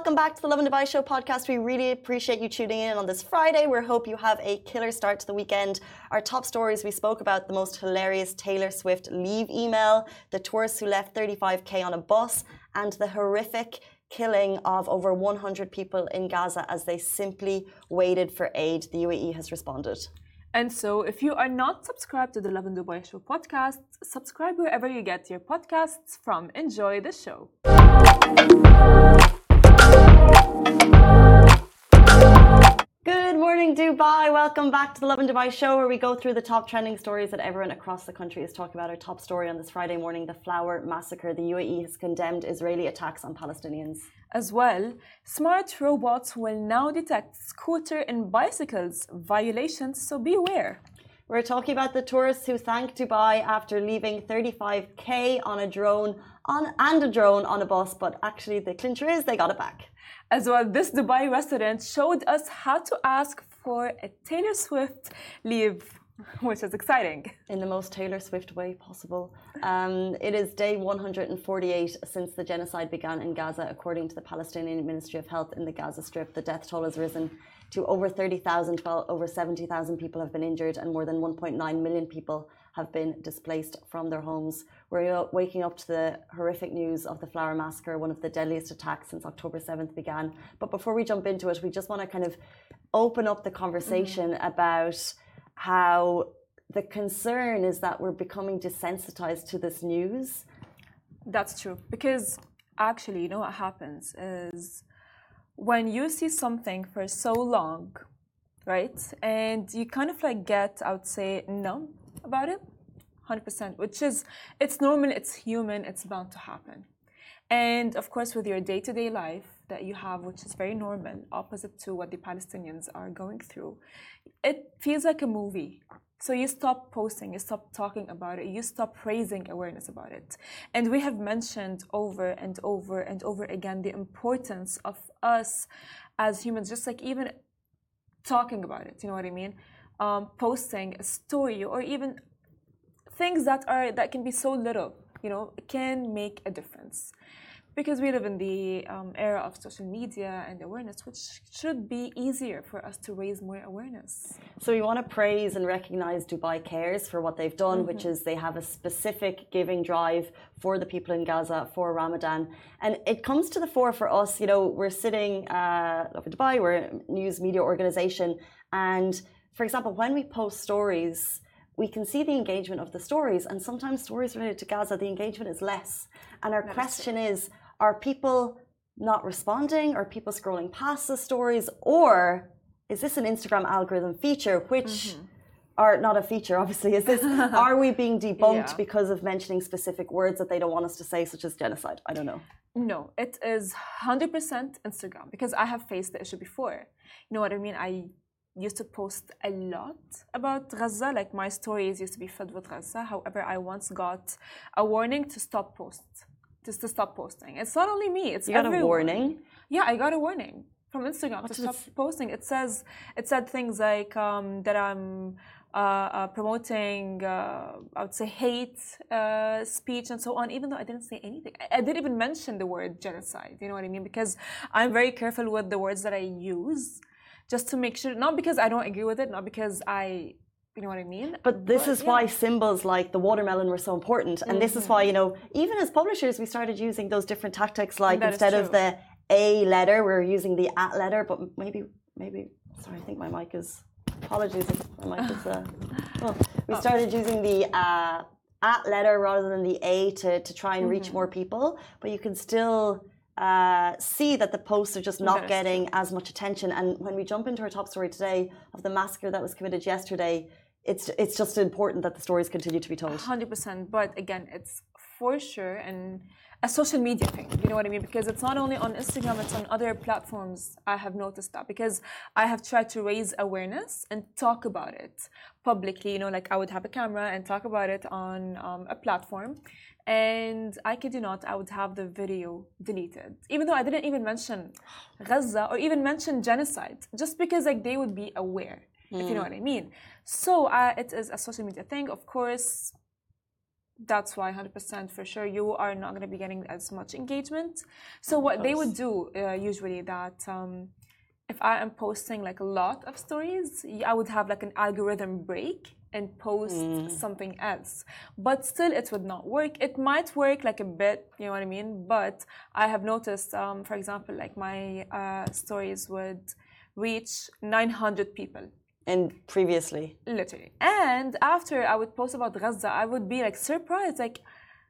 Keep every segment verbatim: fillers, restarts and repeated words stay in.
welcome back to the Love and Dubai Show podcast. We really appreciate you tuning in on this Friday. We hope you have a killer start to the weekend. Our top stories, we spoke about the most hilarious Taylor Swift leave email, the tourists who left thirty-five K on a bus, and the horrific killing of over one hundred people in Gaza as they simply waited for aid. The U A E has responded. And so, if you are not subscribed to the Love and Dubai Show podcast, subscribe wherever you get your podcasts from. Enjoy the show. Good morning, Dubai. Welcome back to the Love and Dubai Show, where we go through the top trending stories that everyone across the country is talking about. Our top story on this Friday morning, the Flower Massacre. The U A E has condemned Israeli attacks on Palestinians. As well, smart robots will now detect scooter and bicycles violations, so beware. We're talking about the tourists who thanked Dubai after leaving thirty-five K on a drone on and a drone on a bus, but actually the clincher is they got it back. As well, this Dubai resident showed us how to ask for a Taylor Swift leave, which is exciting. In the most Taylor Swift way possible. Um, it is day one hundred forty-eight since the genocide began in Gaza, according to the Palestinian Ministry of Health in the Gaza Strip. The death toll has risen to over thirty thousand, while over seventy thousand people have been injured and more than one point nine million people have been displaced from their homes. We're waking up to the horrific news of the Flower Massacre, one of the deadliest attacks since October seventh began. But before we jump into it, we just want to kind of open up the conversation mm-hmm. about how the concern is that we're becoming desensitized to this news. That's true. Because actually, you know what happens is when you see something for so long, right? And you kind of like get, I would say, numb about it, one hundred percent, which is, it's normal, it's human, it's bound to happen. And of course, with your day-to-day life that you have, which is very normal, opposite to what the Palestinians are going through, it feels like a movie. So you stop posting, you stop talking about it, you stop raising awareness about it. And we have mentioned over and over and over again the importance of us as humans, just like even talking about it, you know what I mean? Um, posting a story or even things that are that can be so little, you know, can make a difference. Because we live in the um, era of social media and awareness, which should be easier for us to raise more awareness. So we want to praise and recognize Dubai Cares for what they've done, mm-hmm. which is they have a specific giving drive for the people in Gaza for Ramadan. And it comes to the fore for us, you know, we're sitting, uh, over Dubai, we're a news media organization. And for example, when we post stories, we can see the engagement of the stories. And sometimes stories related to Gaza, the engagement is less. And our that question is, is are people not responding? Are people scrolling past the stories? Or is this an Instagram algorithm feature, which mm-hmm. are not a feature, obviously. Is this, are we being debunked yeah. because of mentioning specific words that they don't want us to say, such as genocide? I don't know. No, it is one hundred percent Instagram, because I have faced the issue before. You know what I mean? I used to post a lot about Gaza, like my stories used to be filled with Gaza. However, I once got a warning to stop post. Just to stop posting. It's not only me, it's you got everyone. a warning? Yeah, I got a warning from Instagram what to stop it? posting. It says, it said things like um, that I'm uh, uh, promoting, uh, I would say, hate uh, speech and so on, even though I didn't say anything. I, I didn't even mention the word genocide, you know what I mean? Because I'm very careful with the words that I use, just to make sure, not because I don't agree with it, not because I You know what I mean? But this but, is yeah. why symbols like the watermelon were so important. And mm-hmm. this is why, you know, even as publishers, we started using those different tactics, like that instead of the A letter, we're using the at letter. But maybe, maybe, sorry, I think my mic is, apologies if my mic is, uh, well, we oh. started using the uh, at letter rather than the A to, to try and mm-hmm. reach more people. But you can still uh, see that the posts are just not getting true. as much attention. And when we jump into our top story today of the massacre that was committed yesterday, It's it's just important that the stories continue to be told. one hundred percent. But again, it's for sure and a social media thing. You know what I mean? Because it's not only on Instagram, it's on other platforms. I have noticed that because I have tried to raise awareness and talk about it publicly. You know, like I would have a camera and talk about it on um, a platform. And I kid you not, I would have the video deleted. Even though I didn't even mention Gaza or even mention genocide. Just because like they would be aware. Mm. If you know what I mean. So uh, it is a social media thing, of course. That's why one hundred percent for sure you are not going to be getting as much engagement. So what they would do uh, usually that um, if I am posting like a lot of stories, I would have like an algorithm break and post mm. something else. But still it would not work. It might work like a bit, you know what I mean? But I have noticed, um, for example, like my uh, stories would reach nine hundred people. And previously? Literally. And after I would post about Gaza, I would be like surprised. Like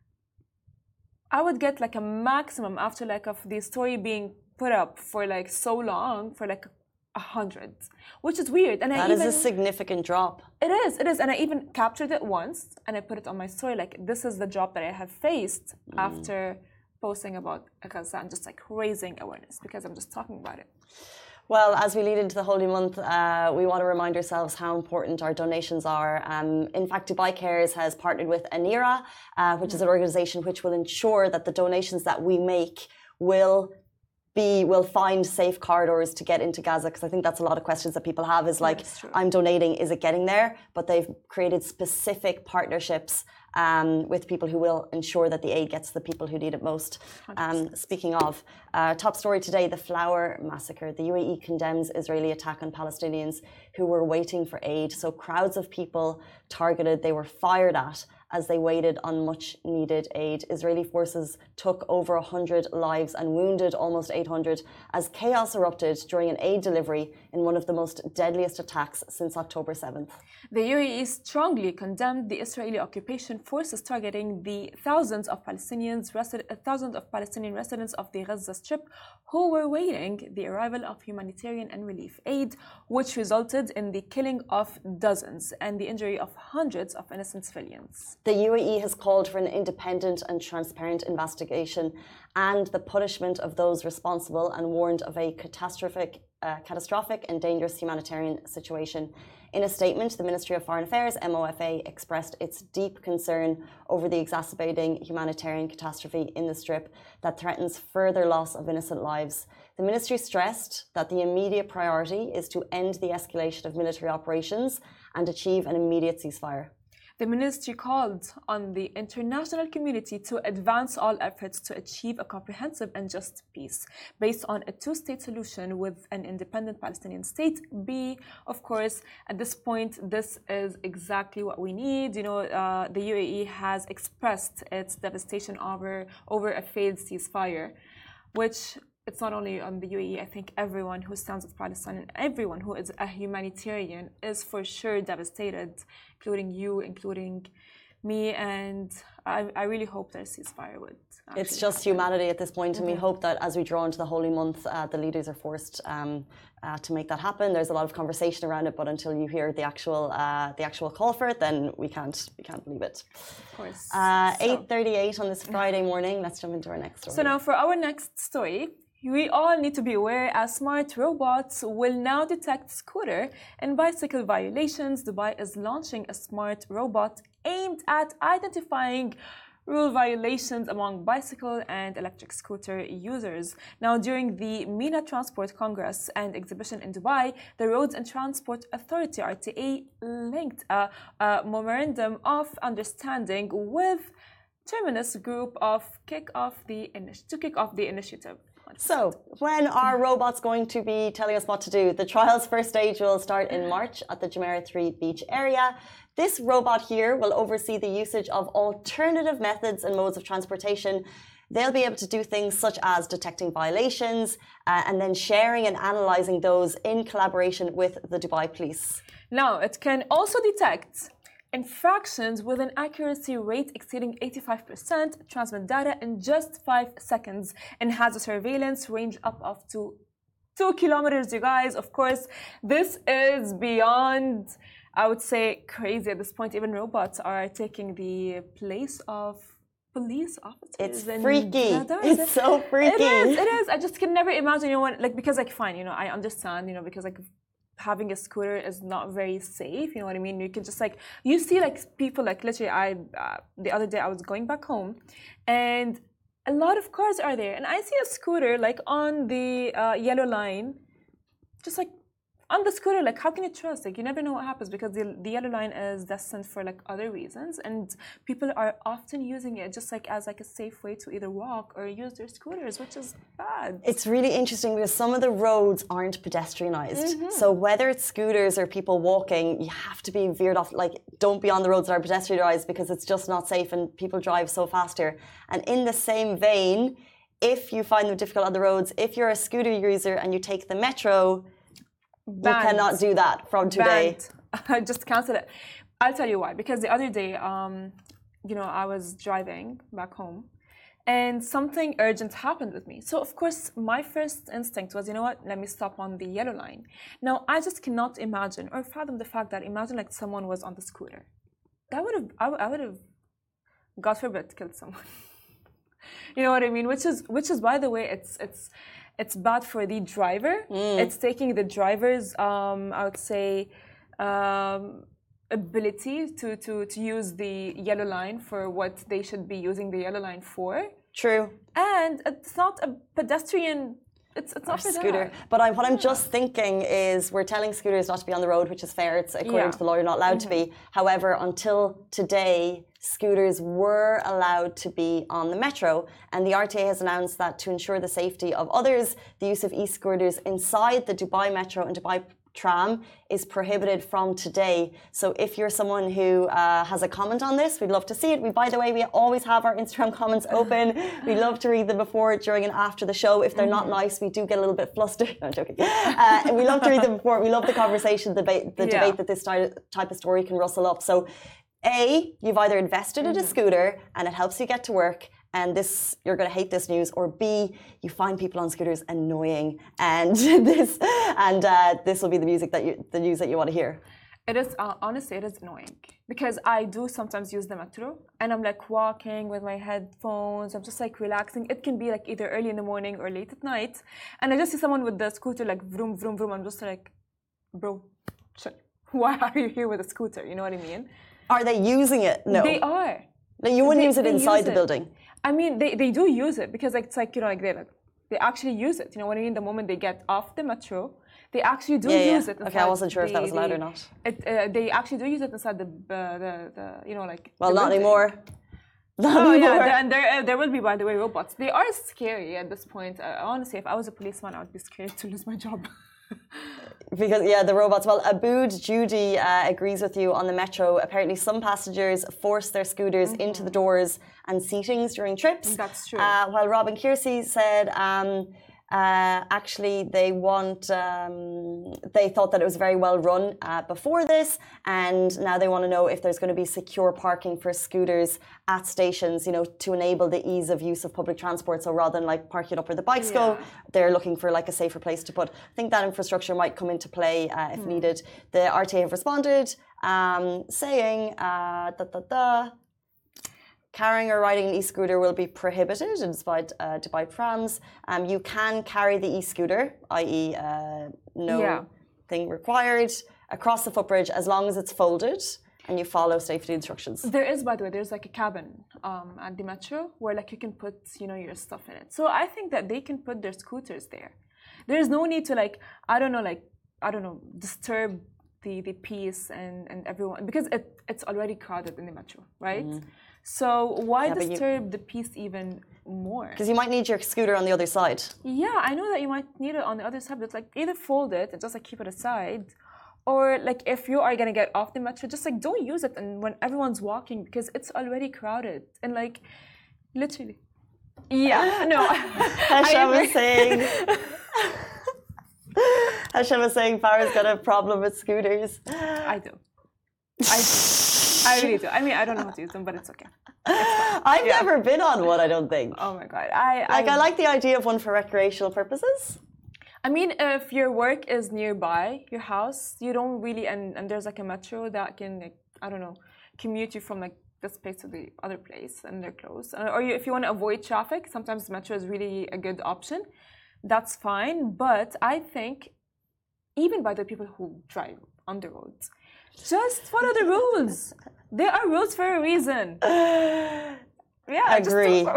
I would get like a maximum after like of the story being put up for like so long, for like a hundred, which is weird. And that I even, is a significant drop. It is, it is. And I even captured it once and I put it on my story. Like this is the drop that I have faced mm. after posting about Gaza and just like raising awareness because I'm just talking about it. Well, as we lead into the Holy Month, uh, we want to remind ourselves how important our donations are. Um, in fact, Dubai Cares has partnered with Anira, uh, which is an organisation which will ensure that the donations that we make will be will find safe corridors to get into Gaza, because I think that's a lot of questions that people have is like, I'm donating, is it getting there? But they've created specific partnerships um, with people who will ensure that the aid gets to the people who need it most. Um, speaking of, uh, top story today, the Flower Massacre. The U A E condemns Israeli attack on Palestinians who were waiting for aid. So crowds of people targeted, they were fired at as they waited on much needed aid. Israeli forces took over one hundred lives and wounded almost eight hundred as chaos erupted during an aid delivery in one of the most deadliest attacks since October seventh. The U A E strongly condemned the Israeli occupation forces targeting the thousands of Palestinians, resi- thousands of Palestinian residents of the Gaza Strip who were waiting the arrival of humanitarian and relief aid, which resulted in the killing of dozens and the injury of hundreds of innocent civilians. The U A E has called for an independent and transparent investigation and the punishment of those responsible and warned of a catastrophic, uh, catastrophic and dangerous humanitarian situation. In a statement, the Ministry of Foreign Affairs, M O F A, expressed its deep concern over the exacerbating humanitarian catastrophe in the Strip that threatens further loss of innocent lives. The ministry stressed that the immediate priority is to end the escalation of military operations and achieve an immediate ceasefire. The ministry called on the international community to advance all efforts to achieve a comprehensive and just peace based on a two-state solution with an independent Palestinian state. B, of course, at this point, this is exactly what we need. You know, uh, the U A E has expressed its devastation over, over a failed ceasefire, which it's not only on the U A E, I think everyone who stands with Palestine and everyone who is a humanitarian is for sure devastated, including you, including me, and I, I really hope that a ceasefire would. It's just happen. Humanity at this point, and mm-hmm. we hope that as we draw into the Holy Month, uh, the leaders are forced um, uh, to make that happen. There's a lot of conversation around it, but until you hear the actual uh, the actual call for it, then we can't we can't believe it. Of course. Uh, so. eight thirty-eight on this Friday morning. Let's jump into our next story. So now for our next story. We all need to be aware as smart robots will now detect scooter and bicycle violations. Dubai is launching a smart robot aimed at identifying rule violations among bicycle and electric scooter users. Now, during the MENA Transport Congress and exhibition in Dubai, the Roads and Transport Authority, R T A, linked a, a memorandum of understanding with Terminus Group of kick off the to kick off the initiative. So, when are robots going to be telling us what to do? The trial's first stage will start in March at the Jumeirah three beach area. This robot here will oversee the usage of alternative methods and modes of transportation. They'll be able to do things such as detecting violations uh, and then sharing and analysing those in collaboration with the Dubai police. Now, it can also detect infractions with an accuracy rate exceeding eighty-five percent, transmit data in just five seconds, and has a surveillance range up of to two kilometers, you guys. Of course, this is beyond, I would say, crazy at this point. Even robots are taking the place of police officers. It's freaky. It's so freaky. It is, it is. I just can never imagine, you know, what, like, because, like, fine, you know, I understand, you know, because, like, having a scooter is not very safe, you know what I mean? You can just like, you see like people like literally I, uh, the other day I was going back home and a lot of cars are there and I see a scooter like on the uh, yellow line, just like on the scooter, like, how can you trust? Like, you never know what happens because the, the yellow line is destined for like other reasons, and people are often using it just like as like a safe way to either walk or use their scooters, which is bad. It's really interesting because some of the roads aren't pedestrianized. Mm-hmm. So whether it's scooters or people walking, you have to be veered off. Like, don't be on the roads that are pedestrianized because it's just not safe and people drive so fast here. And in the same vein, if you find them difficult on the roads, if you're a scooter user and you take the metro, Banned. You cannot do that from today. Just cancel it. I'll tell you why. Because the other day, um, you know, I was driving back home and something urgent happened with me. So, of course, my first instinct was, you know what, let me stop on the yellow line. Now, I just cannot imagine or fathom the fact that imagine like someone was on the scooter. That would have, I, I would have, God forbid, killed someone. You know what I mean? Which is, which is, by the way, it's, it's, It's bad for the driver. Mm. It's taking the driver's, um, I would say, um, ability to, to, to use the yellow line for what they should be using the yellow line for. True. And it's not a pedestrian. It's, it's not a scooter. That. But I, what I'm yeah. just thinking is we're telling scooters not to be on the road, which is fair. It's according yeah. to the law, you're not allowed mm-hmm. to be. However, until today, scooters were allowed to be on the metro, and the R T A has announced that to ensure the safety of others, the use of e-scooters inside the Dubai Metro and Dubai Tram is prohibited from today. So if you're someone who uh, has a comment on this, we'd love to see it. We, by the way, we always have our Instagram comments open. We love to read them before, during, and after the show. If they're not nice, we do get a little bit flustered. No, I'm joking. Uh, we love to read them before. We love the conversation, the debate, the yeah. debate that this type of story can rustle up. So, A, you've either invested in a scooter and it helps you get to work, and this, you're going to hate this news, or B, you find people on scooters annoying, and this and uh, this will be the music that you, the news that you want to hear. It is uh, honestly, it is annoying because I do sometimes use the metro, and I'm like walking with my headphones. I'm just like relaxing. It can be like either early in the morning or late at night, and I just see someone with the scooter like vroom vroom vroom. I'm just like, bro, shit. Why are you here with a scooter? You know what I mean? Are they using it? No. They are. No, you wouldn't they, use it inside the it. building. I mean, they, they do use it because like, it's like, you know, like they like, they actually use it. You know what I mean? The moment they get off the metro, they actually do yeah, use yeah. it. Okay, I wasn't sure the, if that was allowed the, or not. It, uh, they actually do use it inside the, uh, the, the you know, like... Well, not anymore. Not oh, anymore. yeah, and there, uh, there will be, by the way, robots. They are scary at this point. Uh, honestly, if I was a policeman, I would be scared to lose my job. Because, yeah, the robots. Well, Abood Judy uh, agrees with you on the metro. Apparently, some passengers force their scooters mm-hmm. into the doors and seatings during trips. That's true. Uh, while Robin Kiersey said um, uh, actually they want, um, they thought that it was very well run uh, before this, and now they want to know if there's going to be secure parking for scooters at stations, you know, to enable the ease of use of public transport. So rather than like park it up where the bikes yeah. go, they're looking for like a safer place to put. I think that infrastructure might come into play uh, if mm. needed. The R T A have responded um, saying, uh, da, da, da, carrying or riding an e-scooter will be prohibited in Dubai, uh, Dubai trams. Um, you can carry the e-scooter, that is uh, no yeah. thing required, across the footbridge as long as it's folded and you follow safety instructions. There is, by the way, there's like a cabin um, at the metro where like you can put, you know, your stuff in it. So I think that they can put their scooters there. There's no need to like, I don't know, like, I don't know, disturb the, the peace and, and everyone, because it, it's already crowded in the metro, right? Mm. So why yeah, disturb you, the peace even more? Because you might need your scooter on the other side. Yeah, I know that you might need it on the other side, but like either fold it and just like keep it aside, or like if you are gonna get off the metro, just like don't use it and when everyone's walking because it's already crowded and like literally. Yeah, no. Hashem was saying. Hashem was saying Farah's got a problem with scooters. I do. I do. I really do. I mean, I don't know how to use them, but it's okay. It's I've yeah. never been on one, I don't think. Oh my God. I, like, I, I like the idea of one for recreational purposes. I mean, if your work is nearby your house, you don't really, and, and there's like a metro that can, like, I don't know, commute you from like this place to the other place and they're close. Or you, if you want to avoid traffic, sometimes metro is really a good option. That's fine. But I think, even by the people who drive on the roads, just follow the rules. There are rules for a reason. Yeah, agree.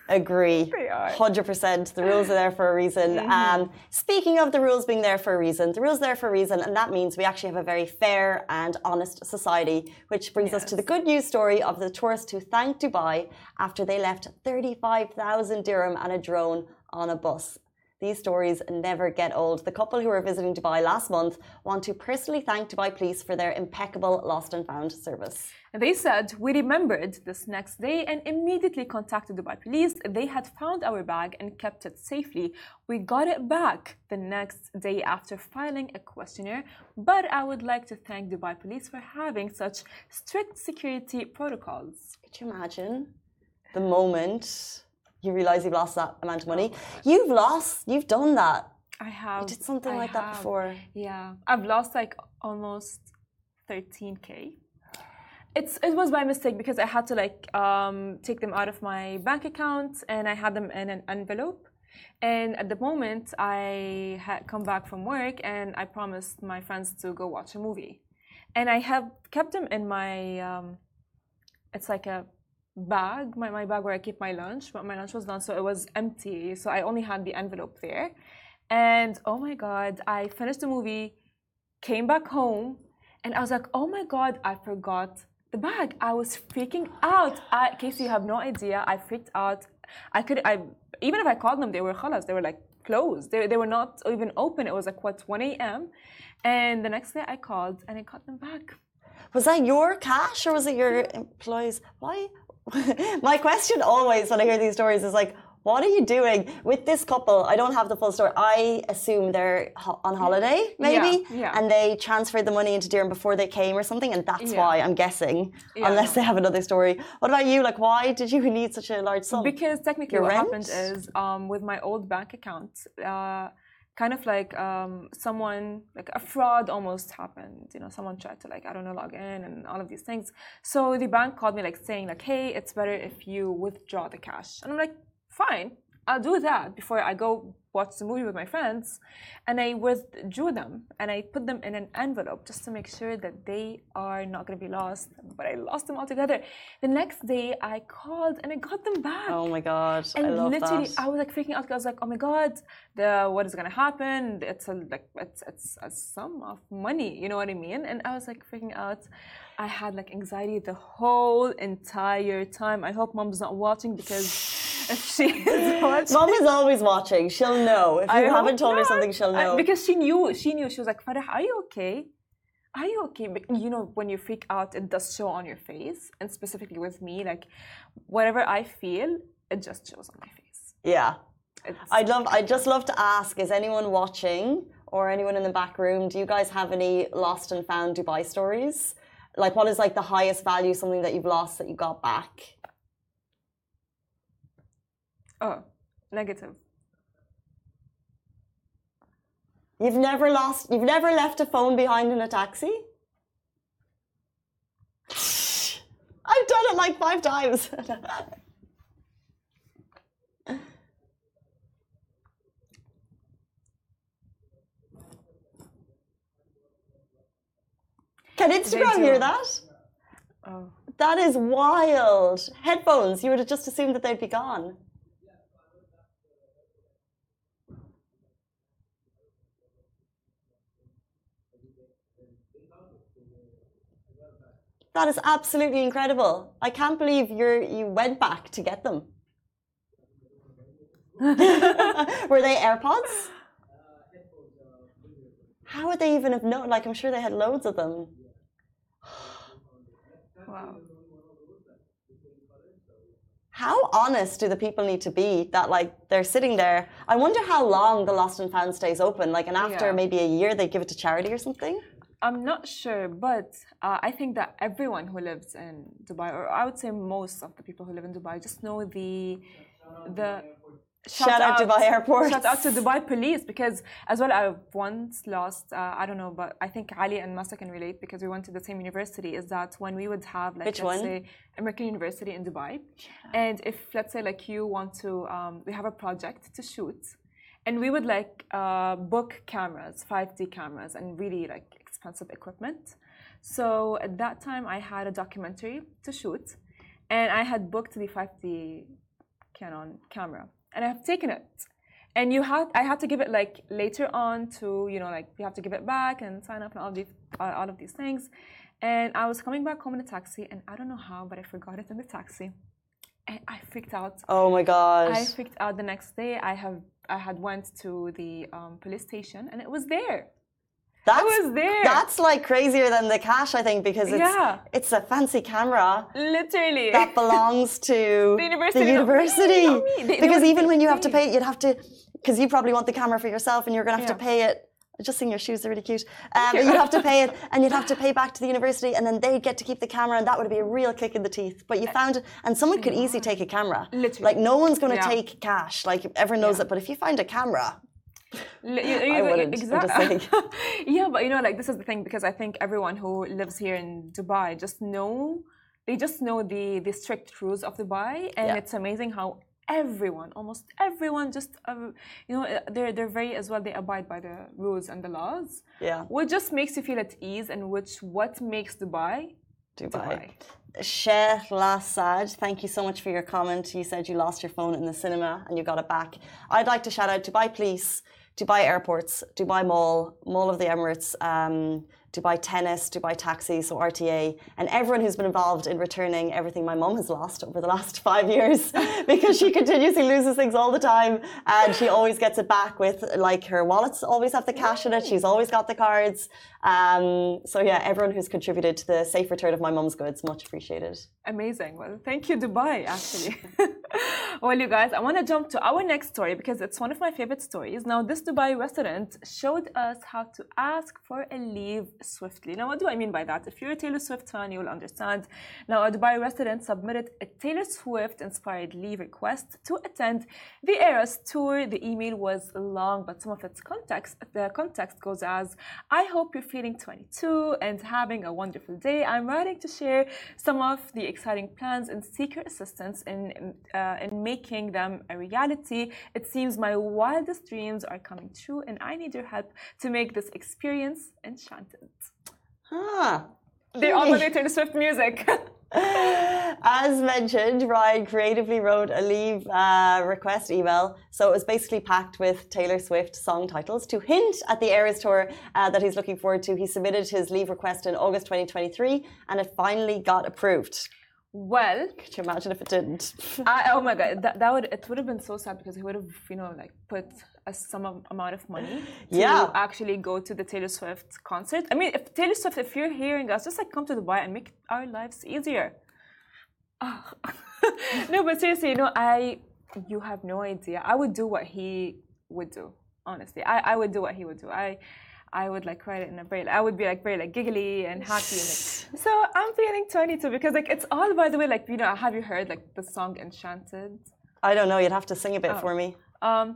Agree. They are. one hundred percent. The rules are there for a reason. Mm-hmm. Um, speaking of the rules being there for a reason, the rules are there for a reason, and that means we actually have a very fair and honest society, which brings Yes. us to the good news story of the tourist who thanked Dubai after they left thirty-five thousand dirham and a drone on a bus. These stories never get old. The couple who were visiting Dubai last month want to personally thank Dubai Police for their impeccable lost and found service. And they said, we remembered this next day and immediately contacted Dubai Police. They had found our bag and kept it safely. We got it back the next day after filing a questionnaire. But I would like to thank Dubai Police for having such strict security protocols. Could you imagine the moment you realize you've lost that amount of money? You've lost, you've done that. I have. You did something I like that have. before. Yeah. I've lost like almost thirteen K. It's it was by mistake because I had to like um, take them out of my bank account and I had them in an envelope. And at the moment, I had come back from work and I promised my friends to go watch a movie. And I have kept them in my, um, it's like a bag, my, my bag where I keep my lunch, but my lunch was done, so it was empty. So I only had the envelope there. And oh my God, I finished the movie, came back home, and I was like, oh my God, I forgot the bag. I was freaking out. I, Casey, you have no idea. I freaked out. I could, I even if I called them, they were khalas. They were like closed. They, they were not even open. It was like, what, one A M? And the next day I called and I got them back. Was that your cash or was it your employees? Why? My question always when I hear these stories is like, what are you doing with this couple? I don't have the full story. I assume they're ho- on holiday, maybe, Yeah, yeah. and they transferred the money into dirham before they came or something, and that's Yeah. why I'm guessing, Yeah. unless they have another story. What about you? Like, why did you need such a large sum? Because technically Your what rent? happened is um, with my old bank account, uh, kind of like um, someone, like a fraud almost happened. You know, someone tried to like, I don't know, log in and all of these things. So the bank called me like saying like, hey, it's better if you withdraw the cash. And I'm like, fine, I'll do that before I go watch the movie with my friends. And I withdrew them and I put them in an envelope just to make sure that they are not going to be lost. But I lost them altogether. The next day I called and I got them back. Oh my god, And I love literally, that. I was like freaking out. I was like, "Oh my god, the what is gonna happen? It's a like, it's it's a sum of money. You know what I mean?" And I was like freaking out. I had like anxiety the whole entire time. I hope mom's not watching because if she is watching, Mom is always watching. She'll know. If you I haven't hope told her not. something, she'll know. I- because she knew. She knew. She was like, "Farah, are you okay? Are you okay?" But you know, when you freak out, it does show on your face, and specifically with me, like whatever I feel, it just shows on my face. Yeah. It's, I'd love. I'd just love to ask: is anyone watching or anyone in the back room? Do you guys have any lost and found Dubai stories? Like, what is like the highest value, something that you've lost that you got back? oh, negative. You've never lost. You've never left a phone behind in a taxi. I've done it like five times. Can Instagram do. hear that? Oh. That is wild. Headphones, you would have just assumed that they'd be gone. That is absolutely incredible. I can't believe you're you went back to get them. Were they AirPods? How would they even have known? Like, I'm sure they had loads of them. Wow. How honest do the people need to be that, like, they're sitting there? I wonder how long the Lost and Found stays open. Like, and after Yeah. maybe a year, they give it to charity or something? I'm not sure, but uh, I think that everyone who lives in Dubai, or I would say most of the people who live in Dubai, just know the the Shout out Dubai Airport. Shout out to Dubai Police because as well I've once lost uh, I don't know, but I think Ali and Masa can relate because we went to the same university. Is that when we would have like Which let's one? say American University in Dubai, and if let's say like you want to um, we have a project to shoot, and we would like uh, book cameras, five D cameras, and really like expensive equipment. So at that time I had a documentary to shoot, and I had booked the five D Canon camera, and I have taken it. And you had, I had to give it like later on to, you know, like you have to give it back and sign up and all these, uh, all of these things. And I was coming back home in a taxi, and I don't know how, but I forgot it in the taxi, and I freaked out. Oh my gosh! I freaked out. The next day, I have, I had went to the um, police station, and it was there. That was there. That's like crazier than the cash, I think, because it's yeah. it's a fancy camera. Literally. That belongs to the university. The university. Not me, not me. They, because they even when you have to pay it, you'd have to, because you probably want the camera for yourself, and you're going to have yeah. to pay it. Just seeing your shoes, they're really cute. Um, but you'd have to pay it, and you'd have to pay back to the university, and then they'd get to keep the camera, and that would be a real kick in the teeth. But you found it, and someone could easily take a camera. Literally. Like, no one's going to yeah. take cash. Like, everyone knows yeah. it. But if you find a camera, you, you, I wouldn't. Exactly. Yeah, but you know, like this is the thing, because I think everyone who lives here in Dubai just know, they just know the the strict rules of Dubai, and yeah. it's amazing how everyone, almost everyone, just uh, you know, they're they're very as well. They abide by the rules and the laws. Yeah. Which just makes you feel at ease, and which what makes Dubai. Dubai. Dubai. Sheikh Lassad, thank you so much for your comment. You said you lost your phone in the cinema and you got it back. I'd like to shout out Dubai Police, Dubai Airports, Dubai Mall, Mall of the Emirates, um, Dubai Tennis, Dubai Taxi, so R T A, and everyone who's been involved in returning everything my mum has lost over the last five years because she continuously loses things all the time, and she always gets it back with, like, her wallets always have the cash in it, she's always got the cards. Um, so yeah, everyone who's contributed to the safe return of my mum's goods, much appreciated. Amazing. Well, thank you, Dubai, actually. Well, you guys, I want to jump to our next story because it's one of my favorite stories. Now, this Dubai resident showed us how to ask for a leave swiftly. Now, what do I mean by that? If you're a Taylor Swift fan, you will understand. Now, a Dubai resident submitted a Taylor Swift-inspired leave request to attend the Eras tour. The email was long, but some of its context, the context goes as, I hope you're feeling twenty-two and having a wonderful day. I'm writing to share some of the exciting plans and seek your assistance in, uh, in making them a reality. It seems my wildest dreams are coming true, and I need your help to make this experience enchanted. Ah, They're all related to Swift music. As mentioned, Ryan creatively wrote a leave uh, request email. So it was basically packed with Taylor Swift song titles to hint at the Eras tour uh, that he's looking forward to. He submitted his leave request in August twenty twenty-three, and it finally got approved. Well, could you imagine if it didn't? I, oh my god, that, that would it would have been so sad because he would have, you know, like put a some amount of money to yeah. actually go to the Taylor Swift concert. I mean, if Taylor Swift, if you're hearing us, just like come to Dubai and make our lives easier. Oh. No, but seriously, you know, I you have no idea. I would do what he would do. Honestly, I, I would do what he would do. I. I would like write it in a very, I would be like very like giggly and happy. And, like, so I'm feeling twenty-two because like it's all, by the way, like, you know, have you heard like the song Enchanted? I don't know. You'd have to sing a bit oh. for me. Um,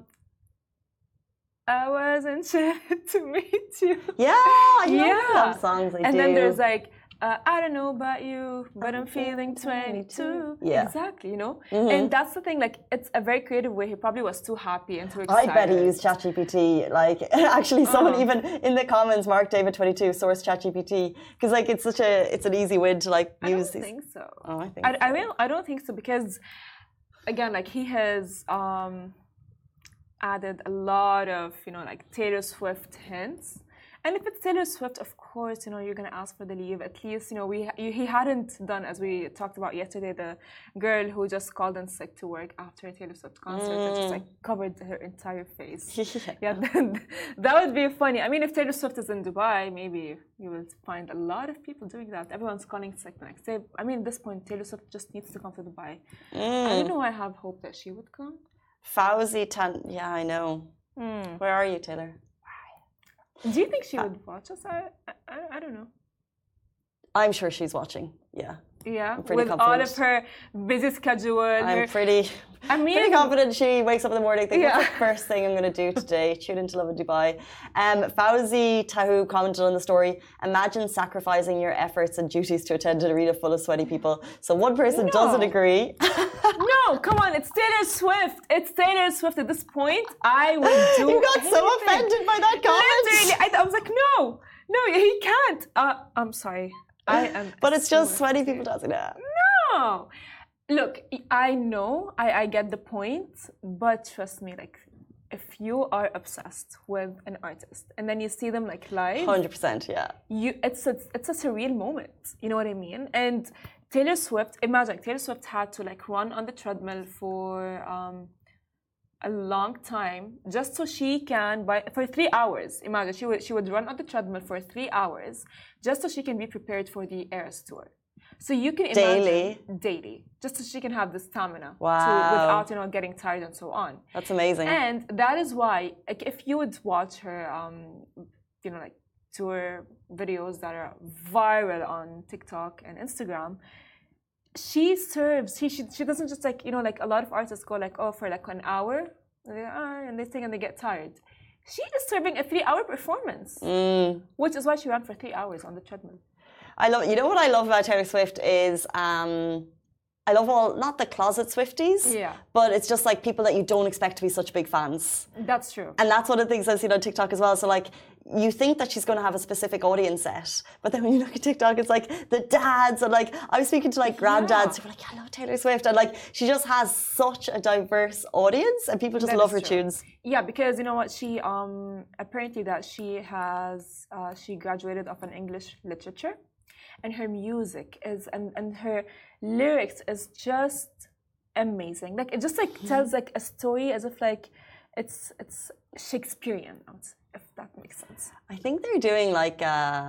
I was enchanted to meet you. Yeah, I yeah. love songs. I and do. then there's like, uh, I don't know about you, but I'm feeling twenty-two. Yeah. Exactly, you know? Mm-hmm. And that's the thing, like, it's a very creative way. He probably was too happy and too excited. I bet he used ChatGPT. Like, actually, someone uh-huh. even in the comments, Mark David twenty-two, sourced ChatGPT. Because, like, it's such a, it's an easy win to, like, I use don't these. think so. Oh, I think I, so. I, mean, I don't think so because, again, like, he has um, added a lot of, you know, like, Taylor Swift hints. And if it's Taylor Swift, of course, you know, you're going to ask for the leave. At least, you know, we he hadn't done, as we talked about yesterday, the girl who just called in sick to work after a Taylor Swift concert mm. and just, like, covered her entire face. Yeah, that would be funny. I mean, if Taylor Swift is in Dubai, maybe you will find a lot of people doing that. Everyone's calling sick the next day. I mean, at this point, Taylor Swift just needs to come to Dubai. Mm. I don't know, I have hope that she would come. Fauzi Tan, yeah, I know. Mm. Where are you, Taylor? Do you think she would watch us? I, I, I don't know. I'm sure she's watching. Yeah. Yeah. I'm pretty with confident. all of her busy schedule. I'm her... pretty. I mean, pretty confident she wakes up in the morning thinking, yeah. what's the first thing I'm going to do today? Tune into Love in Dubai. Um, Fauzi Tahu commented on the story, imagine sacrificing your efforts and duties to attend an arena full of sweaty people. So one person no. doesn't agree. No, come on, it's Taylor Swift. It's Taylor Swift. At this point, I would do You got anything. so offended by that comment. Literally, I, I was like, no, no, he can't. Uh, I'm sorry. I am. But it's just sweaty people dancing. Yeah. No. Look, I know, I, I get the point, but trust me, like, if you are obsessed with an artist and then you see them like live, one hundred percent, yeah. You, it's a, it's a surreal moment. You know what I mean? And Taylor Swift, imagine Taylor Swift had to like run on the treadmill for um, a long time just so she can buy for three hours. Imagine she would she would run on the treadmill for three hours just so she can be prepared for the Eras tour. So you can imagine daily, daily, just so she can have the stamina wow. to, without you know getting tired and so on. That's amazing. And that is why, like, if you would watch her, um, you know, like tour videos that are viral on TikTok and Instagram, she serves. She she, she doesn't just like you know like a lot of artists go like oh for like an hour, and they, ah, and they sing and they get tired. She is serving a three-hour performance, mm. which is why she ran for three hours on the treadmill. I love, you know what I love about Taylor Swift is, um, I love all, not the closet Swifties, yeah. but it's just like people that you don't expect to be such big fans. That's true. And that's one of the things I've seen on TikTok as well. So like, you think that she's going to have a specific audience set, but then when you look at TikTok, it's like the dads and like, I was speaking to like granddads who were like, I love Taylor Swift. And like, she just has such a diverse audience and people just that love her true. tunes. Yeah, because you know what, she, um, apparently that she has, uh, she graduated of an English literature. And her music is and, and her lyrics is just amazing. Like it just like tells like a story as if like it's it's Shakespearean, if that makes sense. I think they're doing like uh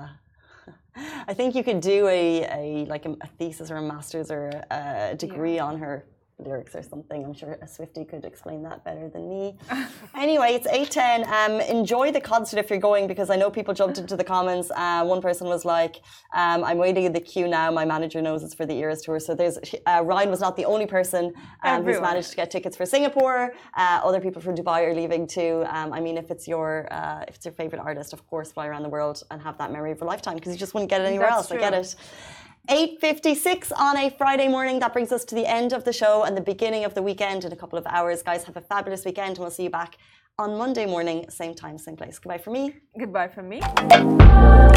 I think you could do a, a like a, a thesis or a master's or a degree yeah. on her lyrics or something. I'm sure a Swiftie could explain that better than me. Anyway, it's eight ten. Um, enjoy the concert if you're going, because I know people jumped into the comments. Uh, one person was like, um, I'm waiting in the queue now. My manager knows it's for the Eras tour. So there's uh, Ryan was not the only person um, who's managed to get tickets for Singapore. Uh, other people from Dubai are leaving too. Um, I mean, if it's your uh, if it's your favorite artist, of course, fly around the world and have that memory of a lifetime, because you just wouldn't get it anywhere That's else. True. I get it. eight fifty-six on a Friday morning. That brings us to the end of the show and the beginning of the weekend in a couple of hours. Guys, have a fabulous weekend and we'll see you back on Monday morning, same time, same place. Goodbye from me. Goodbye from me.